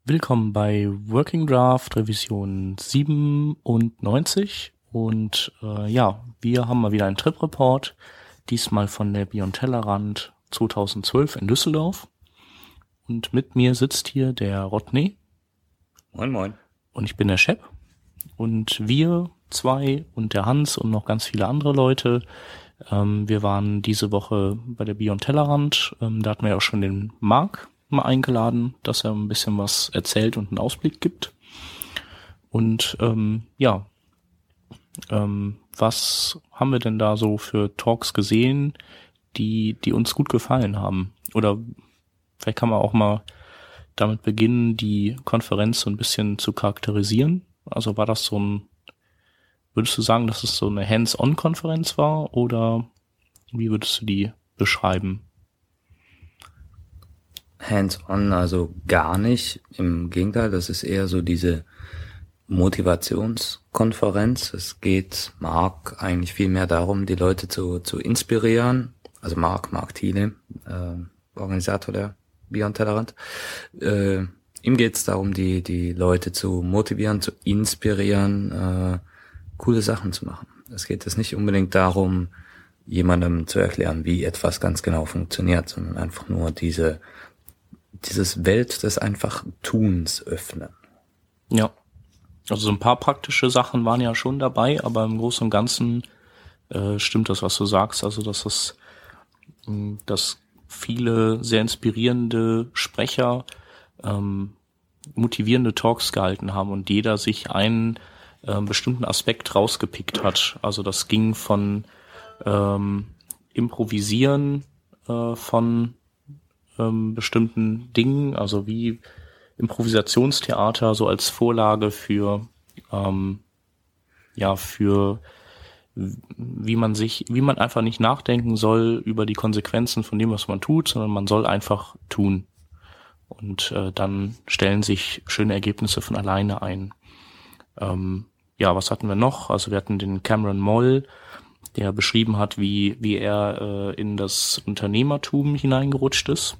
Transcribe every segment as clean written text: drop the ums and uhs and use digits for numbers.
Willkommen bei Working Draft Revision 97 und wir haben mal wieder einen Trip-Report, diesmal von der Beyond Tellerrand 2012 in Düsseldorf und mit mir sitzt hier der Rodney. Moin moin. Und ich bin der Shep und wir zwei und der Hans und noch ganz viele andere Leute, wir waren diese Woche bei der Beyond Tellerrand, da hatten wir ja auch schon den Marc mal eingeladen, dass er ein bisschen was erzählt und einen Ausblick gibt. Und was haben wir denn da so für Talks gesehen, die uns gut gefallen haben? Oder vielleicht kann man auch mal damit beginnen, die Konferenz so ein bisschen zu charakterisieren. Also war das würdest du sagen, dass es so eine Hands-on-Konferenz war oder wie würdest du die beschreiben? Hands-on, also gar nicht. Im Gegenteil, das ist eher so diese Motivationskonferenz. Es geht Marc eigentlich viel mehr darum, die Leute zu inspirieren. Also Marc Thiele, Organisator der Beyond Tellerrand. Ihm geht es darum, die Leute zu motivieren, zu inspirieren, coole Sachen zu machen. Es geht jetzt nicht unbedingt darum, jemandem zu erklären, wie etwas ganz genau funktioniert, sondern einfach nur dieses Welt des einfach Tuns öffnen. Ja, also so ein paar praktische Sachen waren ja schon dabei, aber im Großen und Ganzen stimmt das, was du sagst. Also dass viele sehr inspirierende Sprecher motivierende Talks gehalten haben und jeder sich einen bestimmten Aspekt rausgepickt hat. Also das ging von Improvisieren von bestimmten Dingen, also wie Improvisationstheater so als Vorlage für wie man einfach nicht nachdenken soll über die Konsequenzen von dem, was man tut, sondern man soll einfach tun. Und dann stellen sich schöne Ergebnisse von alleine ein. Was hatten wir noch? Also wir hatten den Cameron Moll, der beschrieben hat, wie er in das Unternehmertum hineingerutscht ist.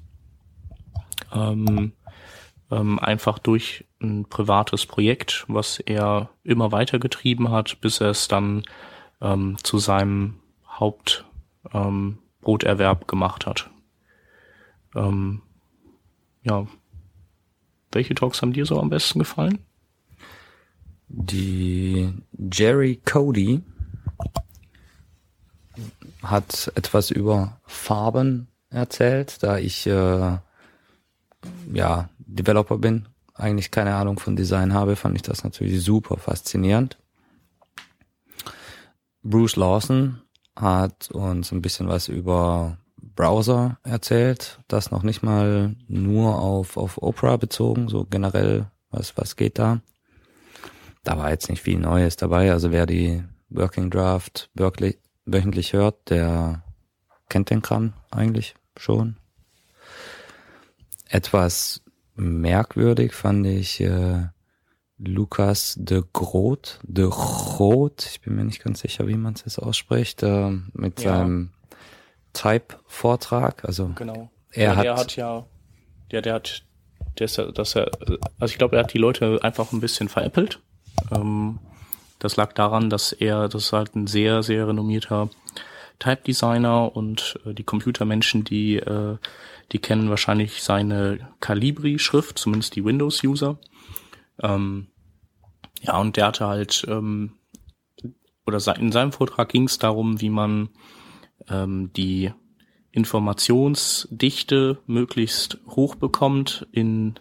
Einfach durch ein privates Projekt, was er immer weitergetrieben hat, bis er es dann zu seinem Hauptbroterwerb gemacht hat. Welche Talks haben dir so am besten gefallen? Die Jerry Cody hat etwas über Farben erzählt, da ich Developer bin, eigentlich keine Ahnung von Design habe, fand ich das natürlich super faszinierend. Bruce Lawson hat uns ein bisschen was über Browser erzählt, das noch nicht mal nur auf Opera bezogen, so generell, was geht da. Da war jetzt nicht viel Neues dabei, also wer die Working Draft wöchentlich hört, der kennt den Kram eigentlich schon. Etwas merkwürdig fand ich Lucas de Groot, ich bin mir nicht ganz sicher, wie man es jetzt ausspricht, mit seinem Type-Vortrag. Also genau. Er hat ich glaube, er hat die Leute einfach ein bisschen veräppelt. Das lag daran, dass das ist halt ein sehr, sehr renommierter Type-Designer und die Computermenschen, die kennen wahrscheinlich seine Calibri-Schrift, zumindest die Windows-User. Und der hatte halt, in seinem Vortrag ging es darum, wie man die Informationsdichte möglichst hoch bekommt mit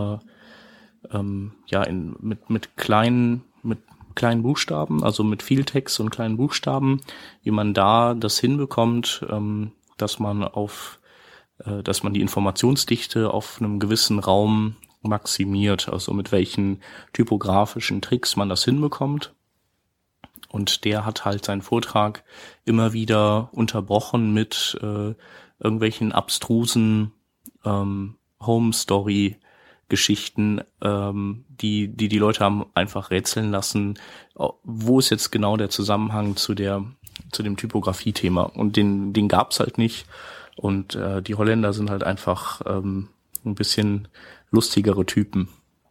kleinen Buchstaben, also mit viel Text und kleinen Buchstaben, wie man da das hinbekommt, dass man die Informationsdichte auf einem gewissen Raum maximiert, also mit welchen typografischen Tricks man das hinbekommt. Und der hat halt seinen Vortrag immer wieder unterbrochen mit irgendwelchen abstrusen Home-Story-Geschichten, die Leute haben einfach rätseln lassen, wo ist jetzt genau der Zusammenhang zu dem Typografie-Thema. Und den gab's halt nicht. Und die Holländer sind halt einfach ein bisschen lustigere Typen.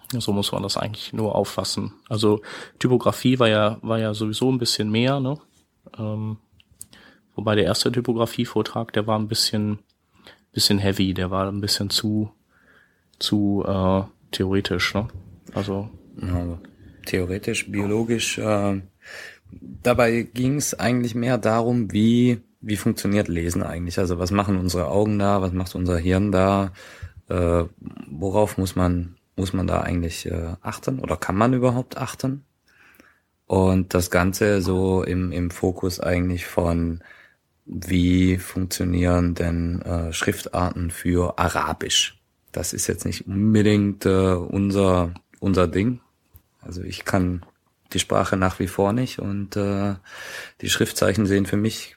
So muss man das eigentlich nur auffassen. Also Typografie war ja sowieso ein bisschen mehr, ne? Wobei der erste Typografie-Vortrag, der war ein bisschen heavy, der war ein bisschen zu theoretisch, ne? Also ja, theoretisch, biologisch. Dabei ging es eigentlich mehr darum, wie funktioniert Lesen eigentlich? Also was machen unsere Augen da? Was macht unser Hirn da? Worauf muss man da eigentlich achten? Oder kann man überhaupt achten? Und das Ganze so im Fokus eigentlich von, wie funktionieren denn Schriftarten für Arabisch? Das ist jetzt nicht unbedingt unser Ding. Also ich kann die Sprache nach wie vor nicht und die Schriftzeichen sehen für mich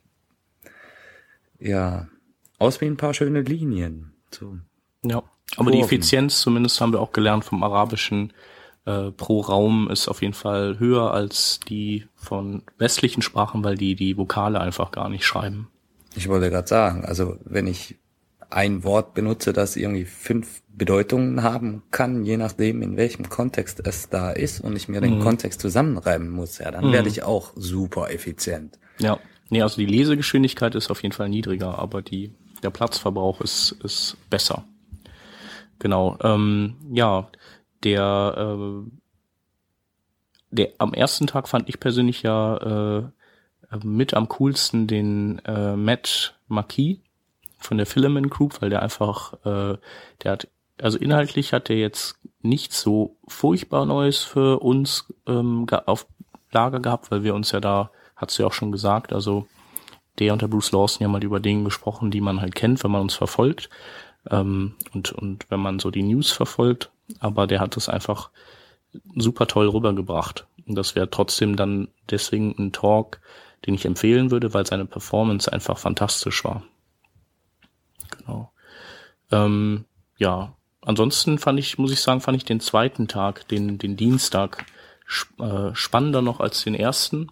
ja aus wie ein paar schöne Linien. So. Ja, aber die Effizienz, zumindest haben wir auch gelernt vom Arabischen, pro Raum ist auf jeden Fall höher als die von westlichen Sprachen, weil die Vokale einfach gar nicht schreiben. Ich wollte gerade sagen, also wenn ich ein Wort benutze, das irgendwie 5 Bedeutungen haben kann, je nachdem, in welchem Kontext es da ist und ich mir den Kontext zusammenreiben muss, ja, dann werde ich auch super effizient. Ja, nee, also die Lesegeschwindigkeit ist auf jeden Fall niedriger, aber der Platzverbrauch ist besser. Genau, ja, der am ersten Tag fand ich persönlich ja mit am coolsten den Matt Marquis von der Filament Group, weil der einfach, also inhaltlich hat der jetzt nichts so furchtbar Neues für uns auf Lager gehabt, weil wir uns ja da, hat's ja auch schon gesagt, also der und der Bruce Lawson ja mal über Dinge gesprochen, die man halt kennt, wenn man uns verfolgt und wenn man so die News verfolgt, aber der hat das einfach super toll rübergebracht und das wäre trotzdem dann deswegen ein Talk, den ich empfehlen würde, weil seine Performance einfach fantastisch war. Genau. Ja, ansonsten fand ich den zweiten Tag, den Dienstag, spannender noch als den ersten.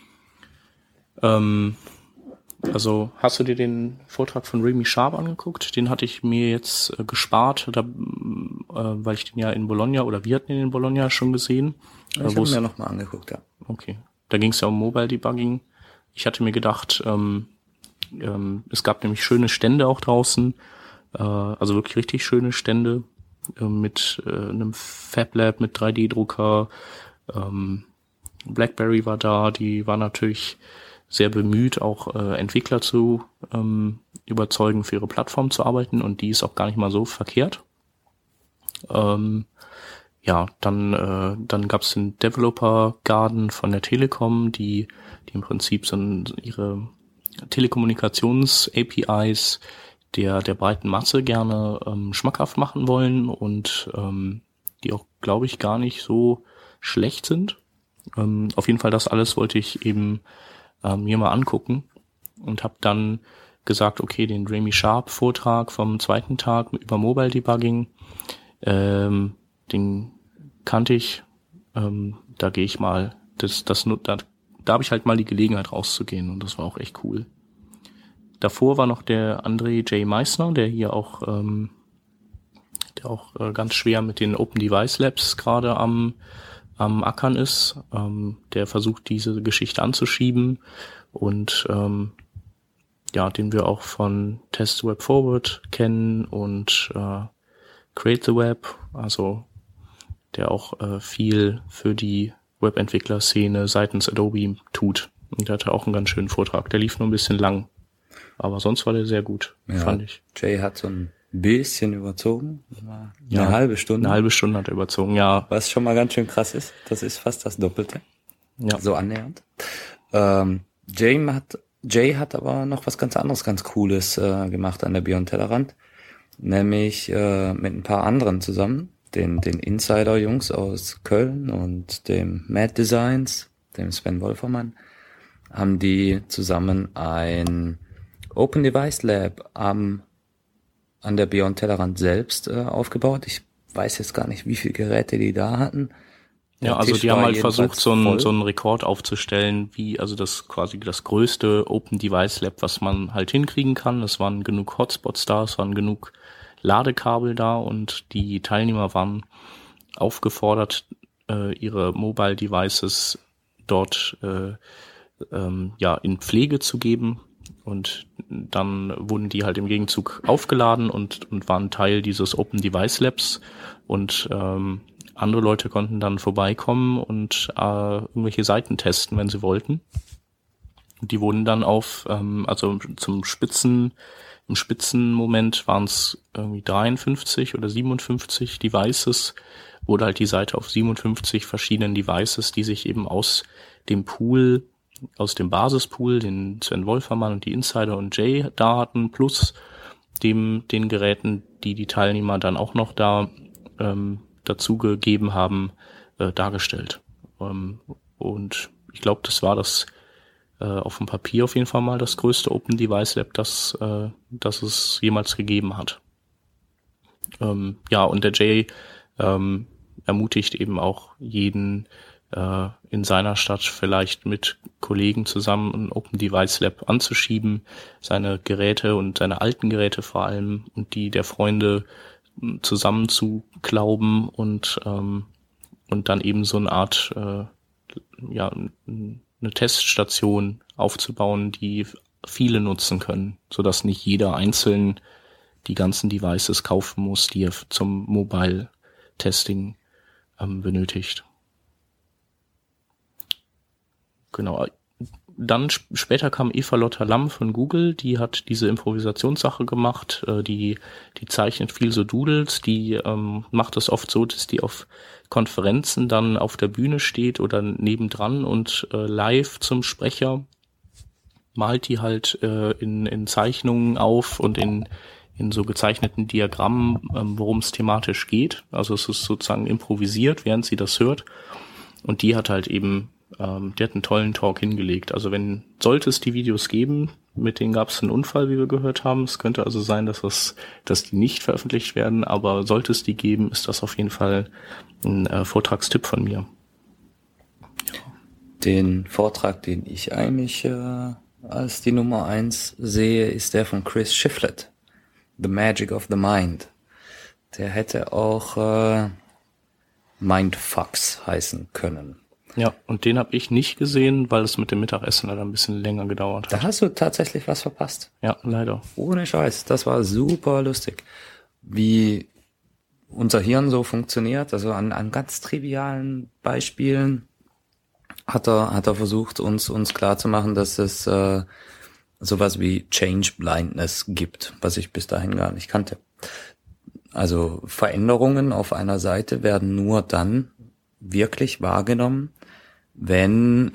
Also hast du dir den Vortrag von Remy Sharp angeguckt? Den hatte ich mir jetzt gespart, weil ich den ja in Bologna, oder wir hatten den in Bologna schon gesehen. Ich habe mir nochmal angeguckt, ja. Okay. Da ging es ja um Mobile Debugging. Ich hatte mir gedacht, es gab nämlich schöne Stände auch draußen, also wirklich richtig schöne Stände mit einem Fab Lab, mit 3D-Drucker. BlackBerry war da, die war natürlich sehr bemüht, auch Entwickler zu überzeugen, für ihre Plattform zu arbeiten, und die ist auch gar nicht mal so verkehrt. Ja, dann gab es den Developer Garden von der Telekom, die im Prinzip so ihre Telekommunikations-APIs der breiten Masse gerne schmackhaft machen wollen und die auch, glaube ich, gar nicht so schlecht sind. Auf jeden Fall das alles wollte ich eben mir mal angucken und habe dann gesagt, okay, den Remy Sharp Vortrag vom zweiten Tag über Mobile Debugging, den kannte ich, da gehe ich mal, da habe ich halt mal die Gelegenheit rauszugehen und das war auch echt cool. Davor war noch der André J. Meissner, der hier auch ganz schwer mit den Open Device Labs gerade am Ackern ist. Der versucht, diese Geschichte anzuschieben und ja, den wir auch von Test Web Forward kennen und Create the Web, also der auch viel für die Webentwickler-Szene seitens Adobe tut. Und der hatte auch einen ganz schönen Vortrag. Der lief nur ein bisschen lang, aber sonst war der sehr gut, fand ich. Jay hat so ein bisschen überzogen. Eine halbe Stunde. Eine halbe Stunde hat er überzogen, ja. Was schon mal ganz schön krass ist. Das ist fast das Doppelte. Ja. So annähernd. Jay hat aber noch was ganz anderes, ganz Cooles gemacht an der Beyond Tellerrand. Nämlich mit ein paar anderen zusammen. Den Insider-Jungs aus Köln und dem Mad Designs, dem Sven Wolfermann, haben die zusammen ein Open Device Lab an der Beyond Tellerrand selbst aufgebaut. Ich weiß jetzt gar nicht, wie viele Geräte die da hatten. Ja, also die haben halt versucht, so einen Rekord aufzustellen, also das quasi das größte Open Device Lab, was man halt hinkriegen kann. Es waren genug Hotspots da, es waren genug Ladekabel da und die Teilnehmer waren aufgefordert, ihre Mobile Devices dort in Pflege zu geben. Und dann wurden die halt im Gegenzug aufgeladen und waren Teil dieses Open Device Labs. Und andere Leute konnten dann vorbeikommen und irgendwelche Seiten testen, wenn sie wollten. Die wurden dann im Spitzenmoment waren es irgendwie 53 oder 57 Devices, wurde halt die Seite auf 57 verschiedenen Devices, die sich eben aus dem Basispool, den Sven Wolfermann und die Insider und Jay da hatten, plus den Geräten, die Teilnehmer dann auch noch dazu gegeben haben, dargestellt. Und ich glaube, das war das auf dem Papier auf jeden Fall mal das größte Open Device Lab, das es jemals gegeben hat. Und der Jay ermutigt eben auch jeden in seiner Stadt vielleicht mit Kollegen zusammen ein Open Device Lab anzuschieben, seine Geräte und seine alten Geräte vor allem und die der Freunde zusammen zu glauben und dann eben so eine Art eine Teststation aufzubauen, die viele nutzen können, sodass nicht jeder einzeln die ganzen Devices kaufen muss, die er zum Mobile Testing benötigt. Genau. Dann später kam Eva-Lotta Lamm von Google, die hat diese Improvisationssache gemacht, die zeichnet viel so Doodles, die macht es oft so, dass die auf Konferenzen dann auf der Bühne steht oder nebendran und live zum Sprecher malt die halt in Zeichnungen auf und in so gezeichneten Diagrammen, worum es thematisch geht. Also es ist sozusagen improvisiert, während sie das hört. Und die hat halt eben die hat einen tollen Talk hingelegt. Also sollte es die Videos geben, mit denen gab es einen Unfall, wie wir gehört haben. Es könnte also sein, dass die nicht veröffentlicht werden, aber sollte es die geben, ist das auf jeden Fall ein Vortragstipp von mir. Den Vortrag, den ich eigentlich als die Nummer 1 sehe, ist der von Chris Shiflett. The Magic of the Mind. Der hätte auch Mindfucks heißen können. Ja, und den habe ich nicht gesehen, weil es mit dem Mittagessen leider ein bisschen länger gedauert hat. Da hast du tatsächlich was verpasst. Ja, leider. Ohne Scheiß, das war super lustig. Wie unser Hirn so funktioniert, also an ganz trivialen Beispielen hat er versucht, uns klarzumachen, dass es sowas wie Change Blindness gibt, was ich bis dahin gar nicht kannte. Also Veränderungen auf einer Seite werden nur dann wirklich wahrgenommen, wenn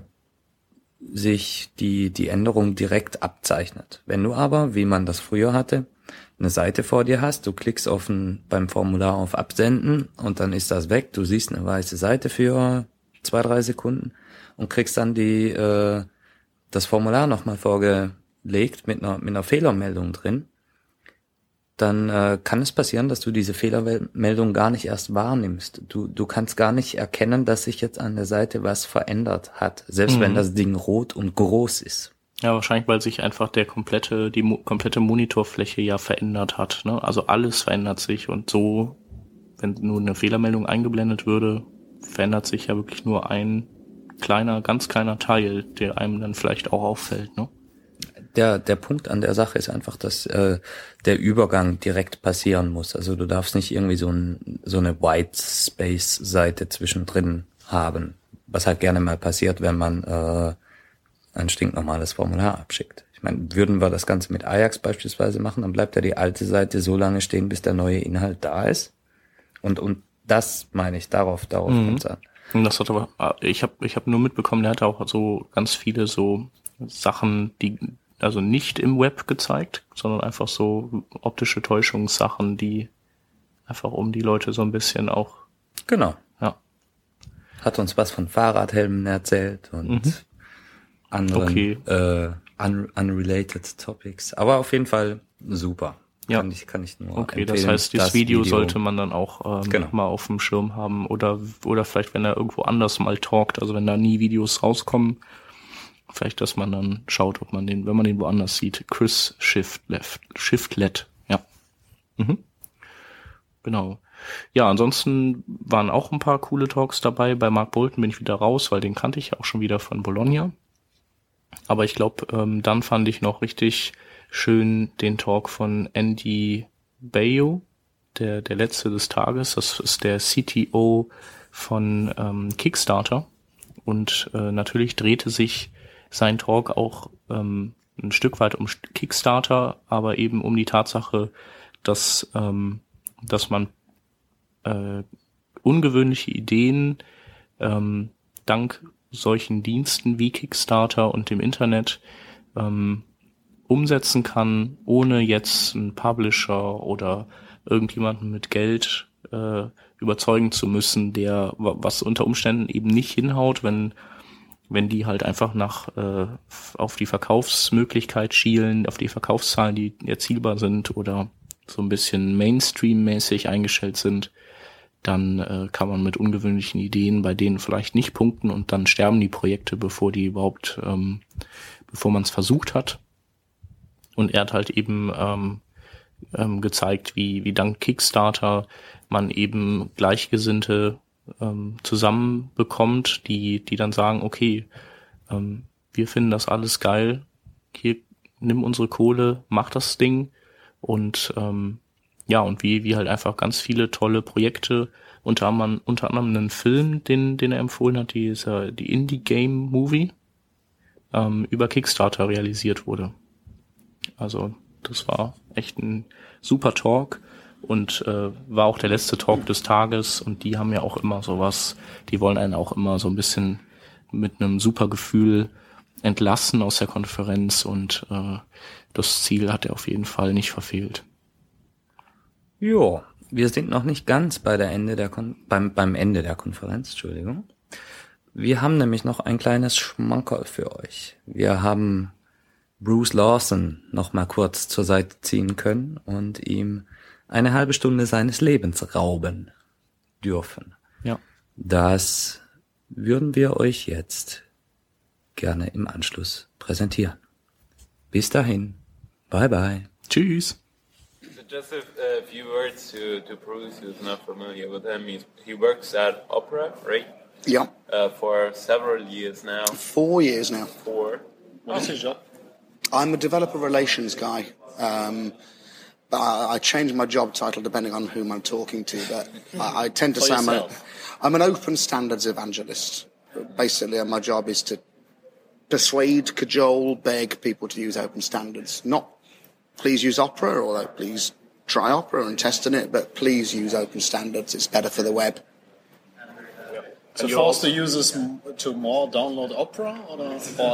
sich die Änderung direkt abzeichnet. Wenn du aber, wie man das früher hatte, eine Seite vor dir hast, du klickst beim Formular auf Absenden und dann ist das weg, du siehst eine weiße Seite für 2-3 Sekunden und kriegst dann das Formular nochmal vorgelegt mit einer Fehlermeldung drin, dann kann es passieren, dass du diese Fehlermeldung gar nicht erst wahrnimmst. Du kannst gar nicht erkennen, dass sich jetzt an der Seite was verändert hat, selbst wenn das Ding rot und groß ist. Ja, wahrscheinlich, weil sich einfach die komplette Monitorfläche ja verändert hat, ne? Also alles verändert sich und so, wenn nur eine Fehlermeldung eingeblendet würde, verändert sich ja wirklich nur ein ganz kleiner Teil, der einem dann vielleicht auch auffällt, ne? Der Punkt an der Sache ist einfach, dass der Übergang direkt passieren muss. Also du darfst nicht irgendwie so eine White Space Seite zwischendrin haben, was halt gerne mal passiert, wenn man ein stinknormales Formular abschickt. Ich meine, würden wir das Ganze mit Ajax beispielsweise machen, dann bleibt ja die alte Seite so lange stehen, bis der neue Inhalt da ist. Und das meine ich, darauf kommt's an. Und das hat aber, ich hab nur mitbekommen, der hat auch so ganz viele so Sachen, die also nicht im Web gezeigt, sondern einfach so optische Täuschungssachen, die einfach um die Leute so ein bisschen auch. Genau. Ja. Hat uns was von Fahrradhelmen erzählt und anderen unrelated Topics. Aber auf jeden Fall super. Ja. Kann ich nur okay, empfehlen. das heißt, das Video sollte man dann auch mal auf dem Schirm haben oder vielleicht, wenn er irgendwo anders mal talkt, also wenn da nie Videos rauskommen, vielleicht, dass man dann schaut, ob man wenn man den woanders sieht. Chris Shiflett, ja. Mhm. Genau. Ja, ansonsten waren auch ein paar coole Talks dabei. Bei Mark Bolton bin ich wieder raus, weil den kannte ich auch schon wieder von Bologna. Aber ich glaube, dann fand ich noch richtig schön den Talk von Andy Bayo, der letzte des Tages. Das ist der CTO von Kickstarter. Und natürlich drehte sich sein Talk auch ein Stück weit um Kickstarter, aber eben um die Tatsache, dass man ungewöhnliche Ideen dank solchen Diensten wie Kickstarter und dem Internet umsetzen kann, ohne jetzt einen Publisher oder irgendjemanden mit Geld überzeugen zu müssen, der was unter Umständen eben nicht hinhaut, wenn die halt einfach auf die Verkaufsmöglichkeit schielen, auf die Verkaufszahlen, die erzielbar sind oder so ein bisschen Mainstream-mäßig eingestellt sind, dann kann man mit ungewöhnlichen Ideen bei denen vielleicht nicht punkten und dann sterben die Projekte, bevor man es versucht hat. Und er hat halt eben gezeigt, wie dank Kickstarter man eben Gleichgesinnte zusammenbekommt, die dann sagen, okay, wir finden das alles geil, hier, nimm unsere Kohle, mach das Ding und und wie halt einfach ganz viele tolle Projekte, unter anderem einen Film, den er empfohlen hat, die Indie Game Movie, über Kickstarter realisiert wurde. Also das war echt ein super Talk und war auch der letzte Talk des Tages und die haben ja auch immer sowas, die wollen einen auch immer so ein bisschen mit einem super Gefühl entlassen aus der Konferenz und das Ziel hat er auf jeden Fall nicht verfehlt. Jo, wir sind noch nicht ganz beim Ende der Konferenz, Entschuldigung. Wir haben nämlich noch ein kleines Schmankerl für euch. Wir haben Bruce Lawson noch mal kurz zur Seite ziehen können und ihm eine halbe Stunde seines Lebens rauben dürfen. Ja. Das würden wir euch jetzt gerne im Anschluss präsentieren. Bis dahin. Bye bye. Tschüss. So just a few words to Bruce, who's not familiar with him. He works at Opera, right? Yeah. For several years now. 4 years now. 4. What's his job? I'm a developer relations guy. But I change my job title depending on whom I'm talking to. But I tend to say I'm an open standards evangelist. Basically, my job is to persuade, cajole, beg people to use open standards. Not please use Opera, or please try Opera and test in it, but please use open standards. It's better for the web. To force the users to more download Opera, or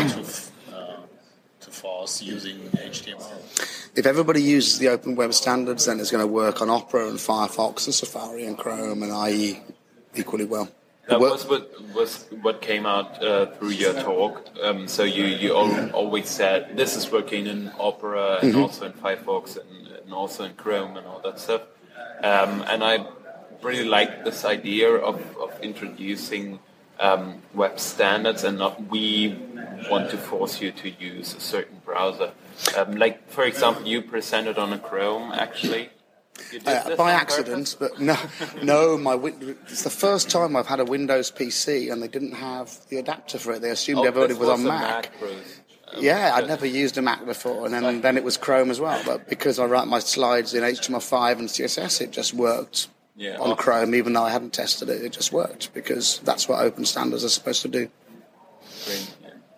to force using HTML? If everybody uses the open web standards, then it's going to work on Opera and Firefox and Safari and Chrome and IE equally well. That was what came out through your talk. So you always said this is working in Opera and also in Firefox and also in Chrome and all that stuff. And I really like this idea of introducing web standards and not we want to force you to use a certain browser. Like, for example, you presented on a Chrome, actually. By accident, but no. It's the first time I've had a Windows PC and they didn't have the adapter for it. They assumed everybody was on Mac. I'd never used a Mac before, and then it was Chrome as well. But because I write my slides in HTML5 and CSS, it just worked on Chrome, even though I hadn't tested it. It just worked because that's what open standards are supposed to do. Great.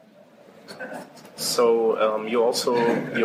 So you're also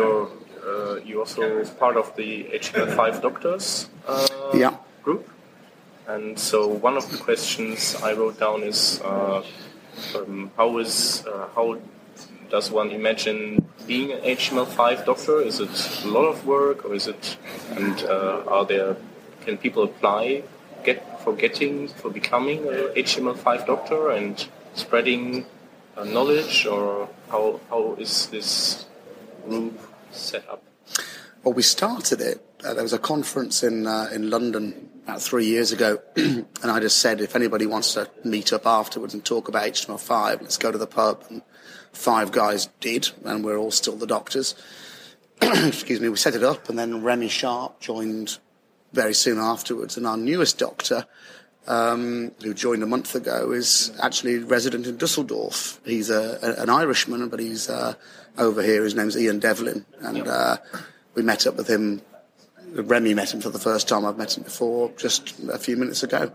part of the HTML5 doctors group. And so one of the questions I wrote down is how does one imagine being an HTML5 doctor? Is it a lot of work, or is it? And can people apply for becoming an HTML5 doctor and spreading knowledge, or how is this group set up? Well, we started it. There was a conference in London about 3 years ago, and I just said, if anybody wants to meet up afterwards and talk about HTML5, let's go to the pub. And 5 guys did, and we're all still the doctors. Excuse me. We set it up, and then Remy Sharp joined very soon afterwards. And our newest doctor, who joined a month ago, is actually resident in Dusseldorf. He's an Irishman, but he's over here. His name's Ian Devlin, and we met up with him. Remy met him for the first time. I've met him before, just a few minutes ago.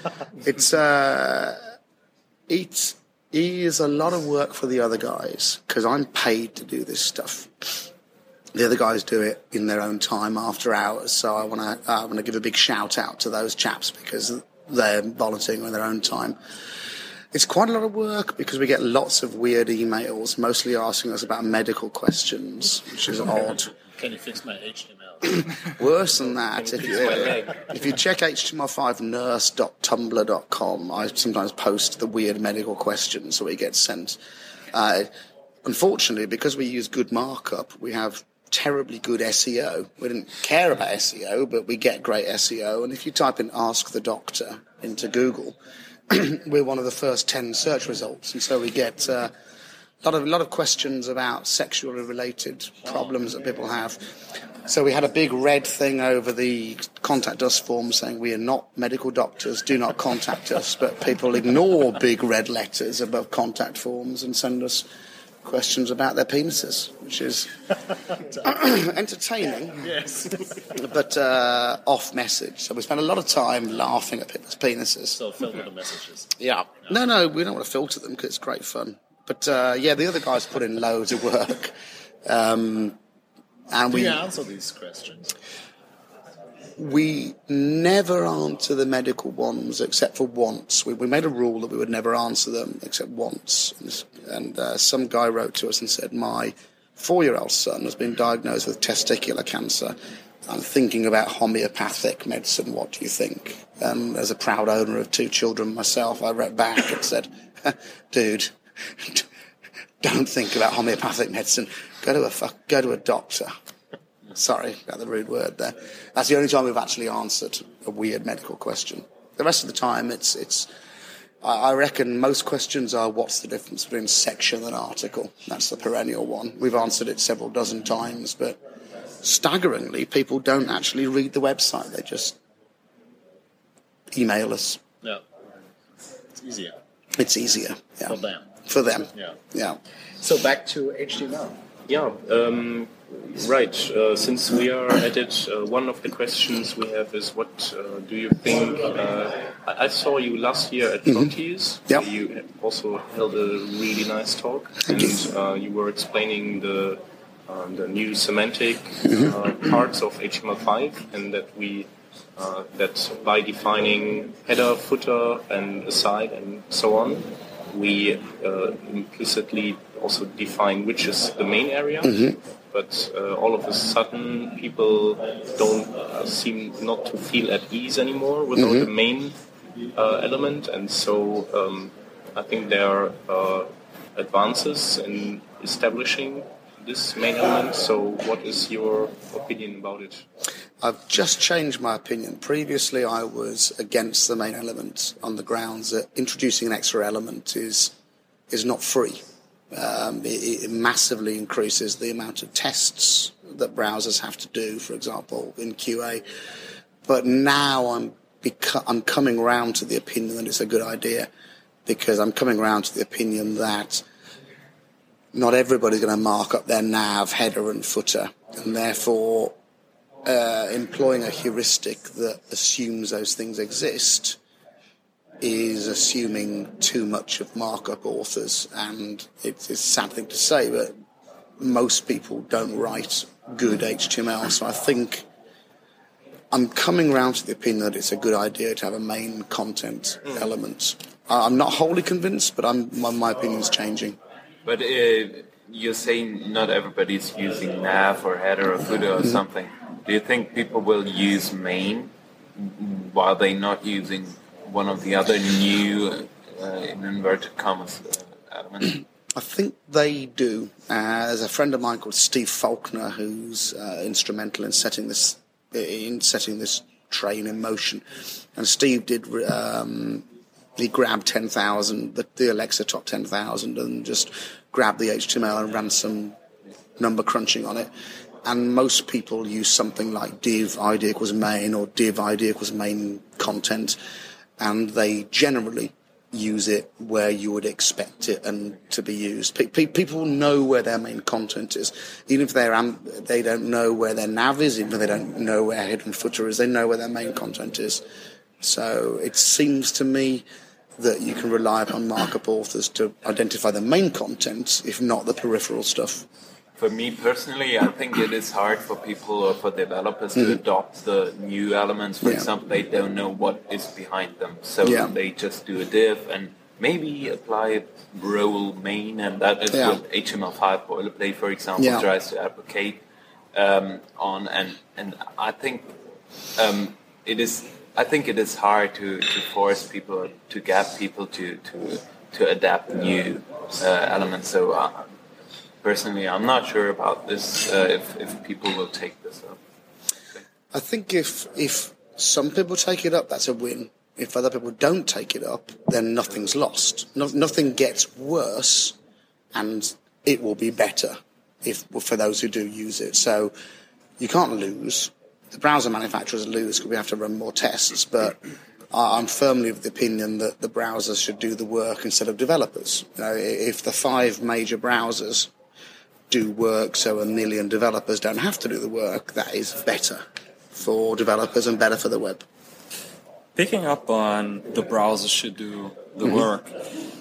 It is a lot of work for the other guys, because I'm paid to do this stuff. The other guys do it in their own time after hours, so I want to give a big shout out to those chaps, because they're volunteering in their own time. It's quite a lot of work, because we get lots of weird emails, mostly asking us about medical questions, which is odd. Can you fix my HTML? Worse than that, if you check html5nurse.tumblr.com, I sometimes post the weird medical questions that we get sent. Unfortunately, because we use good markup, we have terribly good SEO. We didn't care about SEO, but we get great SEO. And if you type in Ask the Doctor into Google, we're one of the first 10 search results. And so we get a lot of questions about sexually related problems that people have. So we had a big red thing over the contact us form saying we are not medical doctors, do not contact us. But people ignore big red letters above contact forms and send us questions about their penises, which is entertaining, yes, but off message. So we spend a lot of time laughing at people's penises. So filter the messages. Yeah. No, we don't want to filter them because it's great fun. But the other guys put in loads of work. Do you answer these questions? We never answer the medical ones except for once. We made a rule that we would never answer them except once. And some guy wrote to us and said, my 4-year-old son has been diagnosed with testicular cancer. I'm thinking about homeopathic medicine. What do you think? And as a proud owner of 2 children myself, I wrote back and said, dude, don't think about homeopathic medicine. Go to a doctor. Sorry about the rude word there. That's the only time we've actually answered a weird medical question. The rest of the time, I reckon most questions are, what's the difference between section and article? That's the perennial one. We've answered it several dozen times, but staggeringly, people don't actually read the website. They just email us. Yeah. It's easier. It's easier. Yeah. For them. Yeah. So back to HTML. Yeah, right. Since we are at it, one of the questions we have is, what do you think? I saw you last year at Frontiers. Yep. You also held a really nice talk, and you were explaining the new semantic parts of HTML5, and that that by defining header, footer, and aside, and so on, we implicitly also define which is the main area, but all of a sudden people don't seem not to feel at ease anymore without the main element, and so I think there are advances in establishing this main element. So what is your opinion about it? I've just changed my opinion. Previously I was against the main element on the grounds that introducing an extra element is not free. It massively increases the amount of tests that browsers have to do, for example, in QA. But now I'm coming around to the opinion that it's a good idea, because I'm coming around to the opinion that not everybody's going to mark up their nav, header and footer, and therefore employing a heuristic that assumes those things exist is assuming too much of markup authors. And it's a sad thing to say, but most people don't write good HTML. So I think I'm coming around to the opinion that it's a good idea to have a main content element. I'm not wholly convinced, but my opinion's changing. But you're saying not everybody's using nav or header or footer or something. Do you think people will use main while they're not using one of the other new, in inverted commas, elements? I think they do. There's a friend of mine called Steve Faulkner who's instrumental in setting this train in motion. And Steve did. He grabbed 10,000, the Alexa top 10,000, and just grabbed the HTML and ran some number crunching on it. and most people use something like div id equals main or div id equals main content, and they generally use it where you would expect it and to be used. People know where their main content is, even if they don't know where their nav is, even if they don't know where head and footer is. They know where their main content is. So it seems to me that you can rely upon markup authors to identify the main content, if not the peripheral stuff. For me personally, I think it is hard for people or for developers to adopt the new elements. For example, they don't know what is behind them. So they just do a div and maybe apply role main, and that is what HTML5 boilerplate, for example, tries to advocate on. And I think it is hard to force people, to get people to adapt new elements. So personally, I'm not sure about this, if people will take this up. I think if some people take it up, that's a win. If other people don't take it up, then nothing's lost. Nothing gets worse, and it will be better for those who do use it. So you can't lose. The browser manufacturers lose because we have to run more tests, but I'm firmly of the opinion that the browsers should do the work instead of developers. If the 5 major browsers do work so 1 million developers don't have to do the work, that is better for developers and better for the web. Picking up on the browser should do the work,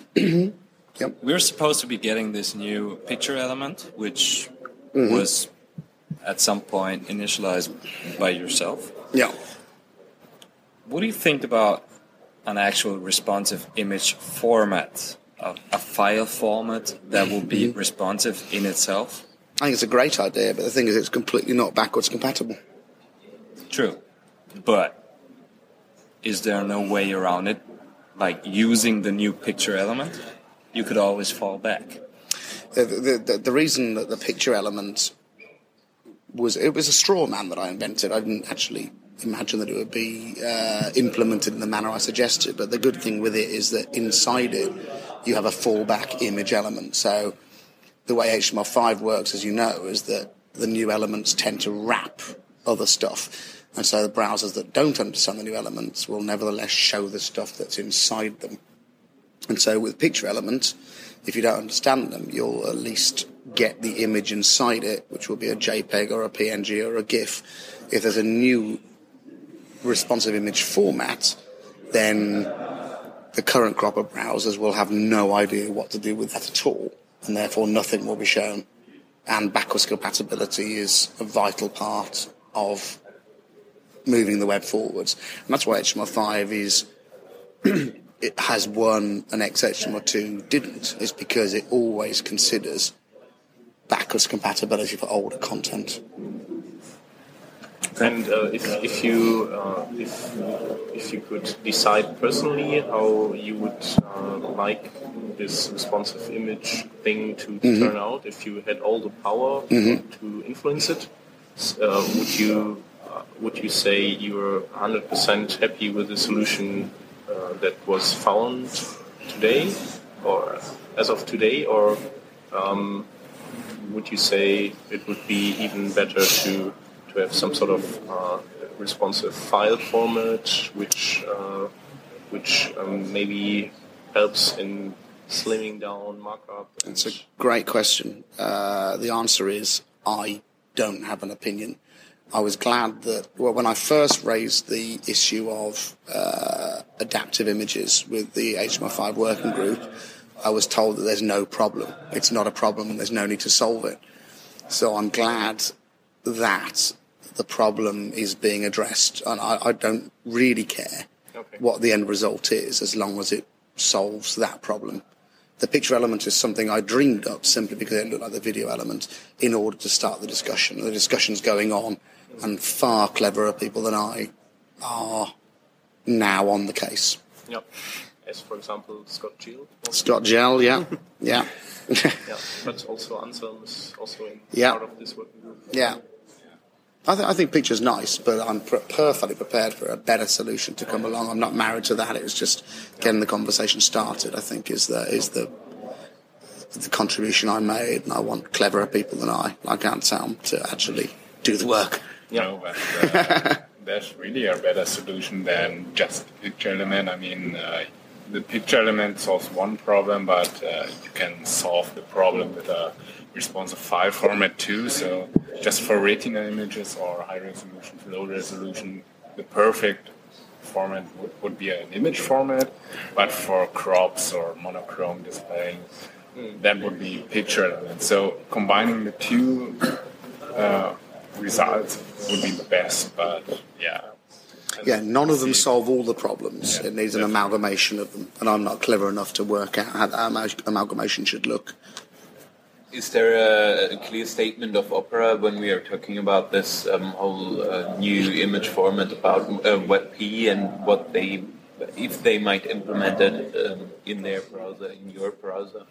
we're supposed to be getting this new picture element, which was at some point initialized by yourself. Yeah. What do you think about an actual responsive image format? A file format that will be responsive in itself? I think it's a great idea, but the thing is it's completely not backwards compatible. True. But is there no way around it? Like using the new picture element? You could always fall back. The reason that the picture element was a straw man that I invented. I didn't actually imagine that it would be implemented in the manner I suggested, but the good thing with it is that inside it you have a fallback image element. So the way HTML5 works, as you know, is that the new elements tend to wrap other stuff, and so the browsers that don't understand the new elements will nevertheless show the stuff that's inside them. And so with picture elements, if you don't understand them, you'll at least get the image inside it, which will be a JPEG or a PNG or a GIF. If there's a new responsive image format, then the current crop of browsers will have no idea what to do with that at all, and therefore nothing will be shown. And backwards compatibility is a vital part of moving the web forwards. And that's why HTML5 is it has won an XHTML2 didn't, is because it always considers backwards compatibility for older content. And if you could decide personally how you would like this responsive image thing to turn out, if you had all the power to influence it, would you say you're 100% happy with the solution that was found today, or as of today, or would you say it would be even better to have some sort of responsive file format, which maybe helps in slimming down markup? It's a great question. The answer is I don't have an opinion. I was glad that when I first raised the issue of adaptive images with the HTML5 working group, I was told that there's no problem. It's not a problem and there's no need to solve it. So I'm glad that the problem is being addressed, and I don't really care what the end result is as long as it solves that problem. The picture element is something I dreamed up simply because it looked like the video element in order to start the discussion. The discussion's going on, and far cleverer people than I are now on the case. Yep. As, for example, Scott Gell. Scott Gell, yeah. Yeah, but also Anselm is also in part of this working group. Yeah. I think picture's nice, but I'm perfectly prepared for a better solution to come along. I'm not married to that. It was just getting the conversation started, I think, is the the contribution I made, and I want cleverer people than I, like Anselm, to actually do the work. No, but there's really a better solution than just the picture element. I mean, the picture element solves one problem, but you can solve the problem with a responsive file format too. So just for retina images or high resolution, low resolution, the perfect format would be an image format, but for crops or monochrome display, that would be picture element. So combining the two results would be the best, but yeah. Yeah, none of them solve all the problems. Yeah, it needs an amalgamation of them, and I'm not clever enough to work out how that amalgamation should look. Is there a clear statement of Opera when we are talking about this whole new image format about WebP and what if they might implement it in their browser, in your browser?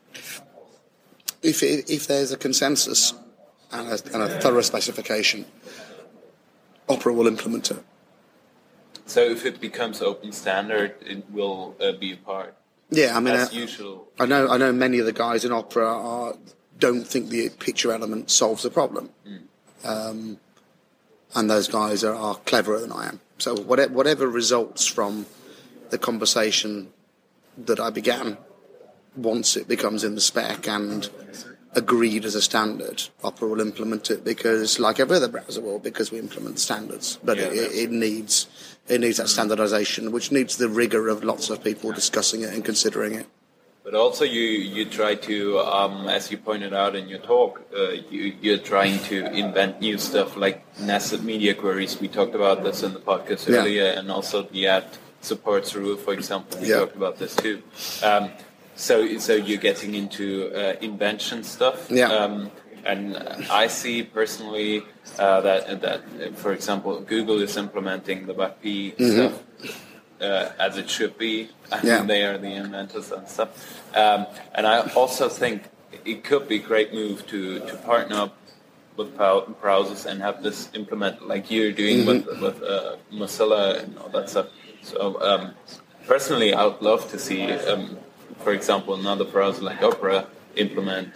If there's a consensus and a thorough specification, Opera will implement it. So if it becomes open standard, it will be a part. Yeah, I mean, as usual. I know many of the guys in Opera don't think the picture element solves the problem, and those guys are cleverer than I am. So whatever results from the conversation that I began, once it becomes in the spec and agreed as a standard, Opera will implement it because, like every other browser will, because we implement standards. But it needs that standardization, which needs the rigor of lots of people discussing it and considering it. But also you try to, as you pointed out in your talk, you're trying to invent new stuff like nested media queries. We talked about this in the podcast earlier, and also the ad supports rule, for example. We talked about this too. So you're getting into invention stuff. And I see personally that for example, Google is implementing the WebP stuff as it should be. I mean, they are the inventors and stuff. And I also think it could be a great move to partner up with browsers and have this implemented like you're doing with Mozilla and all that stuff. So personally, I would love to see, for example, another browser like Opera implement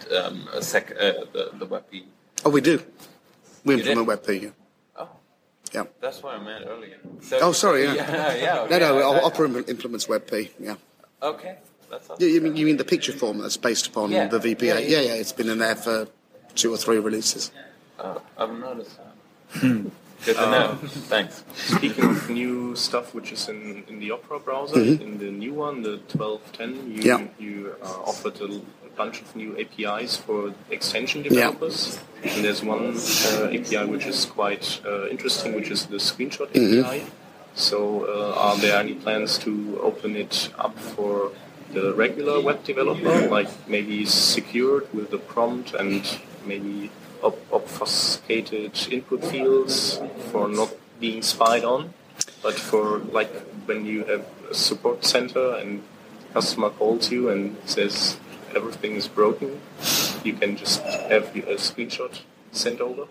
the WebP. Oh, we do. We implement WebP. Oh, yeah. That's what I meant earlier. So, sorry. Yeah. No. Opera implements WebP. Yeah. Okay. That's awesome. You mean the picture format that's based upon the VPA? Yeah. It's been in there for 2 or 3 releases. I've noticed that. Good to know. Thanks. Speaking of new stuff which is in the Opera browser, in the new one, the 12.10, you offered a bunch of new APIs for extension developers. And there's one API which is quite interesting, which is the screenshot API. So are there any plans to open it up for the regular web developer, like maybe secured with the prompt and maybe obfuscated input fields for not being spied on, but for like when you have a support center and customer calls you and says everything is broken, you can just have a screenshot sent over?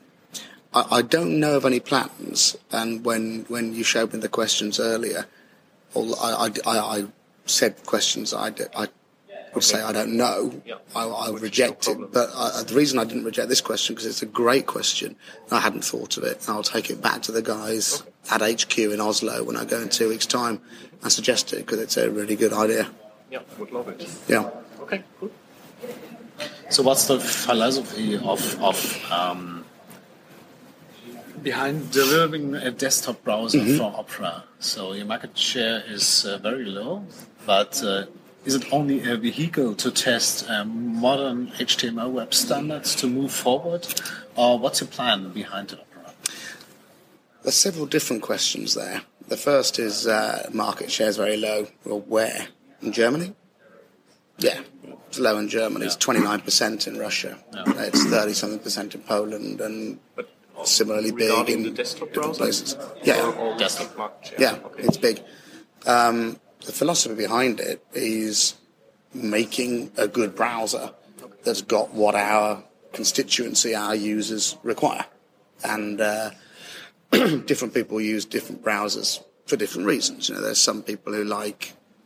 I don't know of any plans, and when you showed me the questions earlier, I said questions I would say I don't know. I would reject it. But the reason I didn't reject this question because it's a great question. I hadn't thought of it. I'll take it back to the guys at HQ in Oslo when I go in 2 weeks' time and suggest it because it's a really good idea. Yeah, would love it. Yeah. Okay, cool. So what's the philosophy of behind developing a desktop browser for Opera? So your market share is very low, but is it only a vehicle to test modern HTML web standards to move forward? Or what's your plan behind Opera? There's several different questions there. The first is market share is very low. Well, where? In Germany? Yeah, it's low in Germany. It's 29% in Russia. It's 30-something% in Poland and similarly big in the desktop different browser? places. Yeah, Desktop market share. yeah, Okay. it's big. The philosophy behind it is making a good browser that's got what our constituency, our users require. And different people use different browsers for different reasons. You know, there's some people who like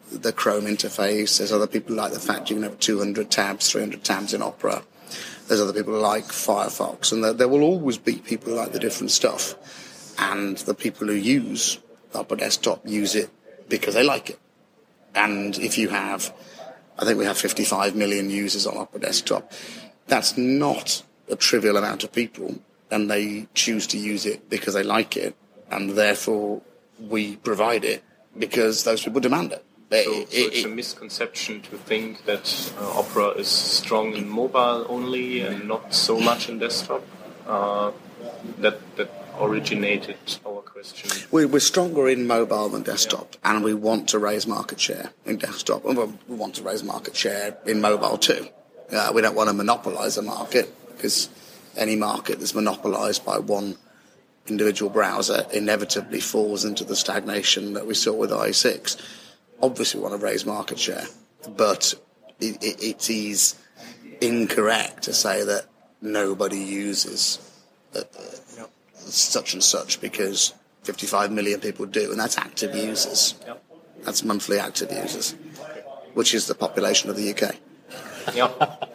the Chrome interface. There's other people who like the fact you can have 200 tabs, 300 tabs in Opera. There's other people who like Firefox. And there will always be people who like the different stuff. And the people who use Opera Desktop use it because they like it. And if you have, I think we have 55 million users on Opera Desktop, that's not a trivial amount of people. And they choose to use it because they like it. And therefore, we provide it because those people demand it. So it's a misconception to think that Opera is strong in mobile only and not so much in desktop. That originated our question. We're stronger in mobile than desktop, and we want to raise market share in desktop. Well, we want to raise market share in mobile too. We don't want to monopolise a market, because any market that's monopolised by one individual browser inevitably falls into the stagnation that we saw with IE6. Obviously, we want to raise market share, but it is incorrect to say that nobody uses such and such, because 55 million people do, and that's active users. Yep. That's monthly active users, which is the population of the UK. Yep.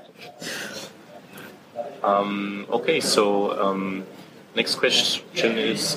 Okay, so next question is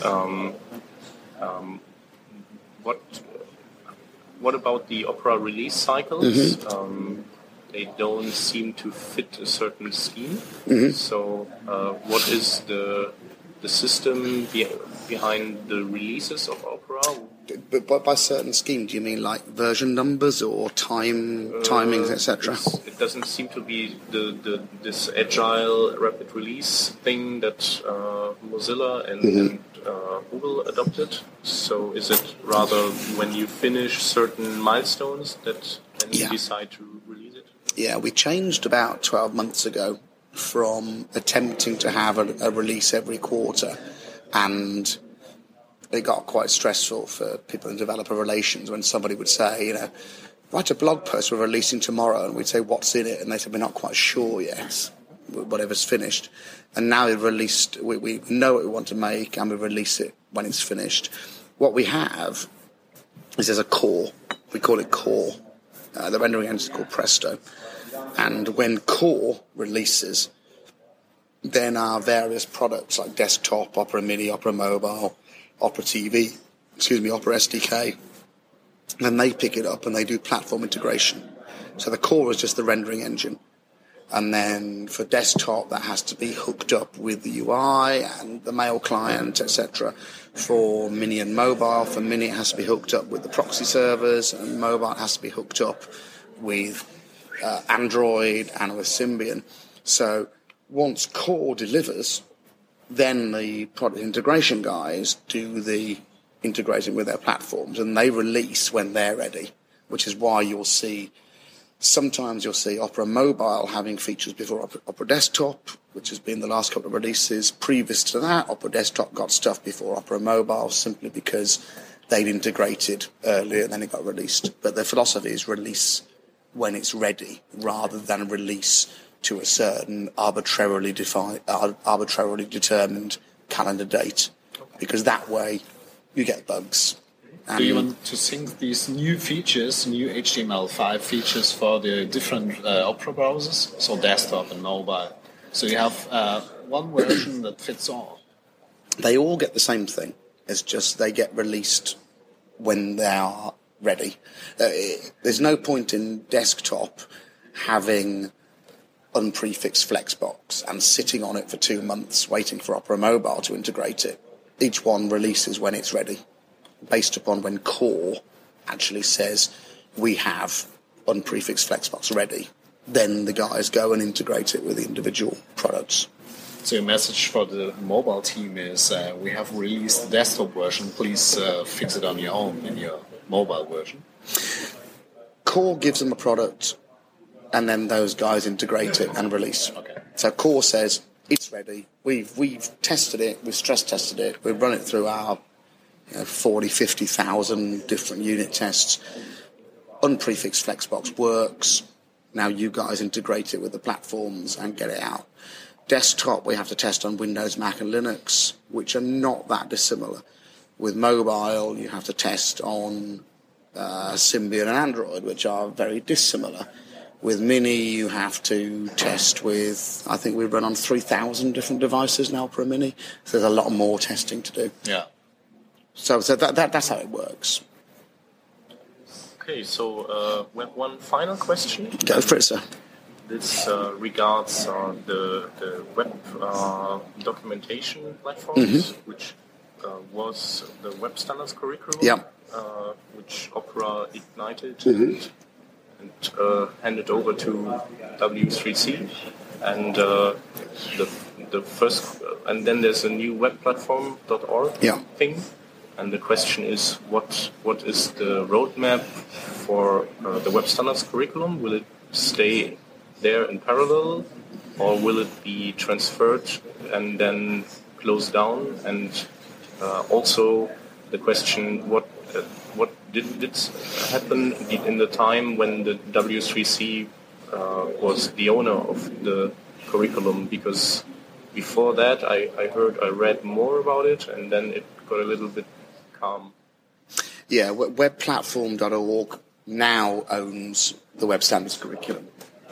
what about the Opera release cycles? Mm-hmm. They don't seem to fit a certain scheme. Mm-hmm. So what is the system behind the releases of Opera? But by certain scheme, do you mean like version numbers or timings, etc.? It doesn't seem to be this agile rapid release thing that Mozilla and Google adopted. So is it rather when you finish certain milestones that then you decide to release it? Yeah, we changed about 12 months ago from attempting to have a release every quarter, and it got quite stressful for people in developer relations when somebody would say, write a blog post we're releasing tomorrow, and we'd say, what's in it? And they said, we're not quite sure yet, whatever's finished. And now we've released, we know what we want to make, and we release it when it's finished. What we have is there's a core. We call it core. The rendering engine is called Presto. And when core releases, then our various products like desktop, Opera Mini, Opera Mobile, Opera TV, Opera SDK, then they pick it up and they do platform integration. So the core is just the rendering engine. And then for desktop, that has to be hooked up with the UI and the mail client, etc. For Mini and mobile, for Mini it has to be hooked up with the proxy servers, and mobile it has to be hooked up with Android and with Symbian. So once core delivers, then the product integration guys do the integrating with their platforms, and they release when they're ready, which is why sometimes you'll see Opera Mobile having features before Opera Desktop, which has been the last couple of releases. Previous to that, Opera Desktop got stuff before Opera Mobile simply because they'd integrated earlier and then it got released. But the philosophy is release when it's ready rather than release to a certain arbitrarily determined calendar date, because that way you get bugs. Do you want to sync these new features, new HTML5 features for the different Opera browsers, so desktop and mobile? So you have one version that fits all. They all get the same thing. It's just they get released when they are ready. There's no point in desktop having unprefixed Flexbox and sitting on it for 2 months waiting for Opera Mobile to integrate it. Each one releases when it's ready, based upon when core actually says we have unprefixed Flexbox ready. Then the guys go and integrate it with the individual products. So your message for the mobile team is we have released the desktop version, please fix it on your own in your mobile version. Core gives them a product and then those guys integrate it and release. Okay. So core says it's ready, we've tested it, we've stress tested it, we've run it through our 50,000 different unit tests. Unprefixed Flexbox works. Now you guys integrate it with the platforms and get it out. Desktop, we have to test on Windows, Mac and Linux, which are not that dissimilar. With mobile, you have to test on Symbian and Android, which are very dissimilar. With Mini, you have to test with, I think we run on 3,000 different devices now per Mini, so there's a lot more testing to do. Yeah. So that's how it works. Okay, so one final question. Go for it, sir. This regards the web documentation platforms, which was the Web Standards curriculum, which Opera ignited and handed over to W3C, and the first, and then there's a new web platform.org thing, and the question is what is the roadmap for the Web Standards curriculum? Will it stay there in parallel, or will it be transferred and then closed down? And also the question, what did happen in the time when the W3C was the owner of the curriculum? Because before that, I read more about it, and then it got a little bit calm. Yeah, webplatform.org now owns the Web Standards curriculum.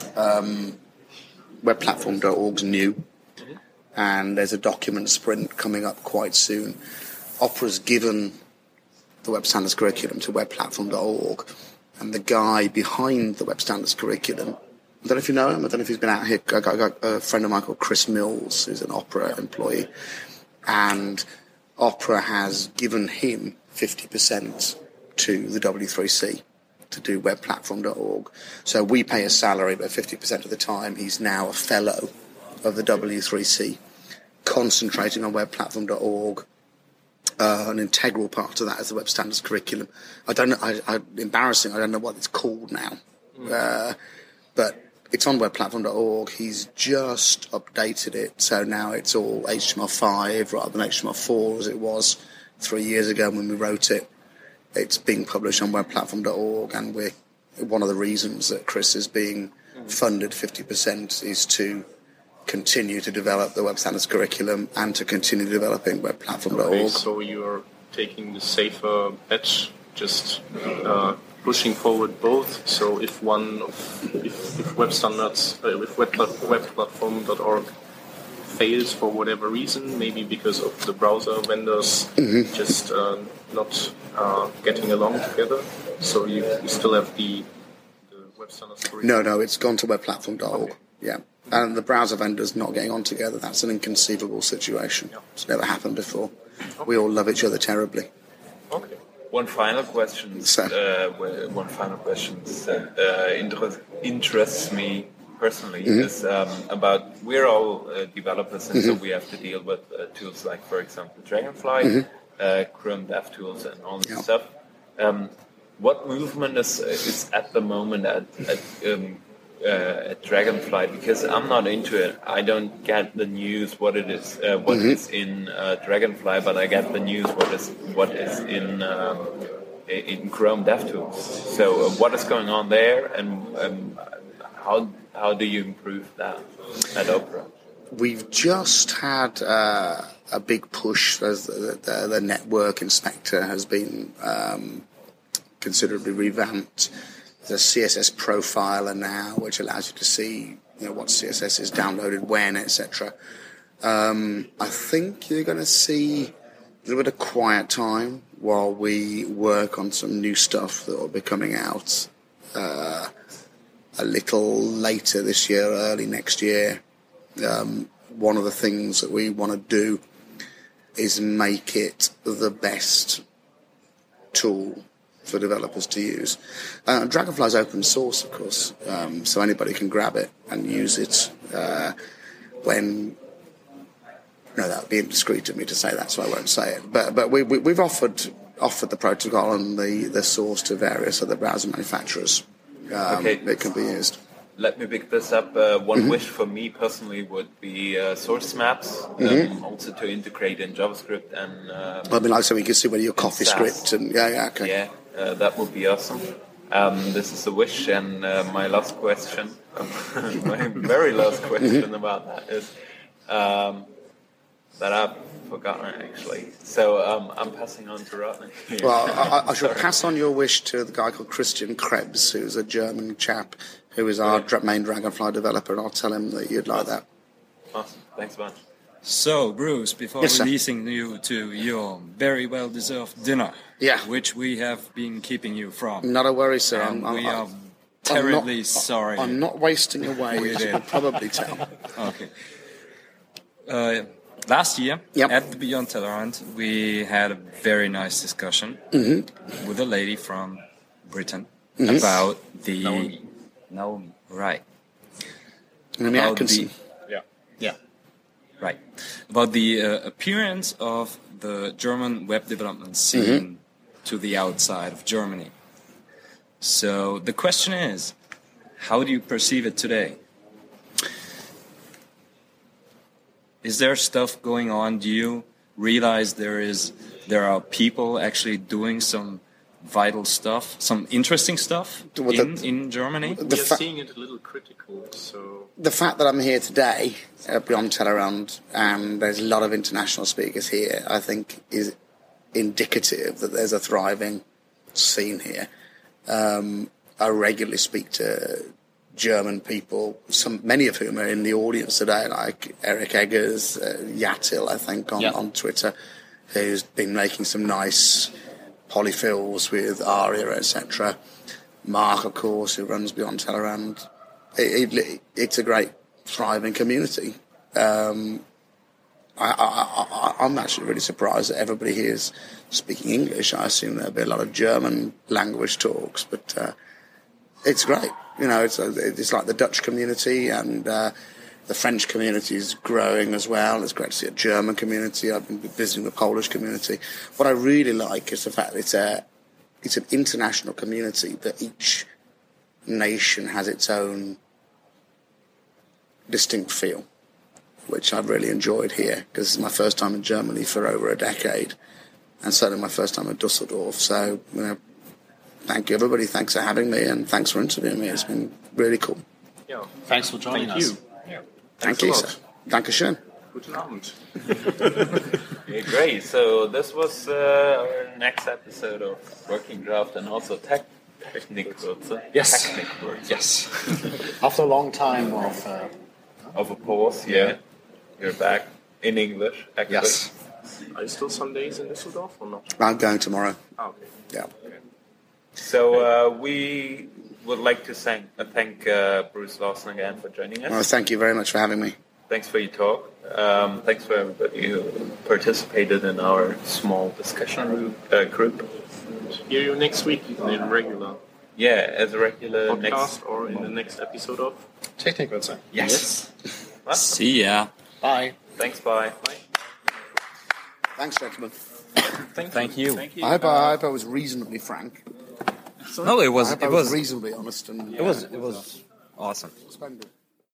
Webplatform.org's new, and there's a document sprint coming up quite soon. Opera's given the Web Standards curriculum to webplatform.org, and the guy behind the Web Standards curriculum, I don't know if you know him, I don't know if he's been out here, I got a friend of mine called Chris Mills, who's an Opera employee, and Opera has given him 50% to the W3C to do webplatform.org. So we pay a salary, but 50% of the time he's now a fellow of the W3C, concentrating on webplatform.org. An integral part of that is the Web Standards curriculum. I don't know, embarrassing, I don't know what it's called now. But it's on webplatform.org. He's just updated it, so now it's all HTML5 rather than HTML4 as it was 3 years ago when we wrote it. It's being published on webplatform.org, and one of the reasons that Chris is being funded 50% is to continue to develop the Web Standards curriculum and to continue developing webplatform.org. Okay, so you're taking the safer bet, just pushing forward both. So if Web Standards, if webplatform.org fails for whatever reason, maybe because of the browser vendors just not getting along together, so you still have the Web Standards curriculum? No, it's gone to webplatform.org. Okay. Yeah. And the browser vendors not getting on together, that's an inconceivable situation. Yeah. It's never happened before. Okay. We all love each other terribly. Okay. One final question that interests me personally is about, we're all developers, and so we have to deal with tools like, for example, Dragonfly, Chrome DevTools, and all this stuff. What movement is at the moment at Dragonfly? Because I'm not into it. I don't get the news what is in Dragonfly, but I get the news what is in Chrome DevTools. So what is going on there, and how do you improve that at Opera? We've just had a big push as the network inspector has been considerably revamped. There's a CSS profiler now, which allows you to see, what CSS is downloaded when, etc. I think you're going to see a little bit of quiet time while we work on some new stuff that will be coming out a little later this year, early next year. One of the things that we want to do is make it the best tool for developers to use. Dragonfly is open source, of course, so anybody can grab it and use it. That would be indiscreet of me to say that, so I won't say it. But we've offered the protocol and the source to various other browser manufacturers. It can be used. Let me pick this up. One wish for me personally would be source maps, also to integrate in JavaScript and. So we can see where your coffee script and okay. Yeah, that would be awesome. This is a wish, and my last question, my very last question about that is, that I've forgotten actually. So I'm passing on to Rodney. Well, I shall pass on your wish to the guy called Christian Krebs, who's a German chap who is our main Dragonfly developer, and I'll tell him that you'd like that. Awesome. Thanks a bunch. So, Bruce, before releasing you to your very well-deserved dinner, which we have been keeping you from. Not a worry, sir. We are terribly sorry. I'm not wasting away, as you can probably tell. Okay. Last year, at the Beyond Tellerrand, we had a very nice discussion with a lady from Britain about the... Naomi. Right. Naomi Atkinson. Right. About the appearance of the German web development scene to the outside of Germany. So the question is, how do you perceive it today? Is there stuff going on? Do you realize there are people actually doing some vital stuff, some interesting stuff in Germany? We are seeing it a little critical. So the fact that I'm here today at Beyond Tellerrand and there's a lot of international speakers here, I think is indicative that there's a thriving scene here. I regularly speak to German people, many of whom are in the audience today, like Eric Eggers, Yatil, I think, on Twitter, who's been making some nice polyfills with Aria, etc. Mark, of course, who runs Beyond Tellerrand. It's a great, thriving community. I'm actually really surprised that everybody here is speaking English. I assume there'll be a lot of German language talks, but it's great. You know, it's like the Dutch community, and the French community is growing as well. It's great to see a German community. I've been visiting the Polish community. What I really like is the fact that it's an international community, but each nation has its own distinct feel, which I've really enjoyed here, because it's my first time in Germany for over a decade, and certainly my first time at Dusseldorf. So, thank you, everybody. Thanks for having me, and thanks for interviewing me. It's been really cool. Yeah. Thanks for joining us. Yeah. Thank you, sir. Dankeschön. Guten Abend. Okay, great. So this was our next episode of Working Draft and also Technikwürze. Yes. Technikwürze. Yes. After a long time of a pause, You're back in English, actually. Yes. Are you still some days in Düsseldorf or not? I'm going tomorrow. Oh, okay. Yeah. Okay. So we would like to thank Bruce Larson again for joining us. Well, thank you very much for having me. Thanks for your talk. Thanks for everybody who participated in our small discussion group. Hear you next week in a regular as a regular podcast or in the next episode of Technikwürze. Yes. See ya. Bye. Thanks, bye. Thanks, gentlemen. Thank you. I hope I was reasonably frank. No, it was reasonably honest. And it was awesome. Splendid.